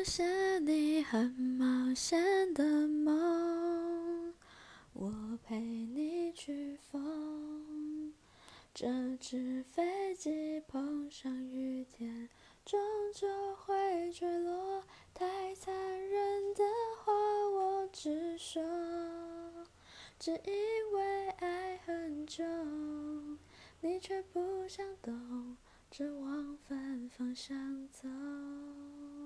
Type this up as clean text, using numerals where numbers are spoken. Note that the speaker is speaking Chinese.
些你很冒险的梦，我陪你去疯。这只飞机碰上雨天，终究会坠落。太残忍的话我只说，只因为爱很重，你却不想懂，只往反方向走。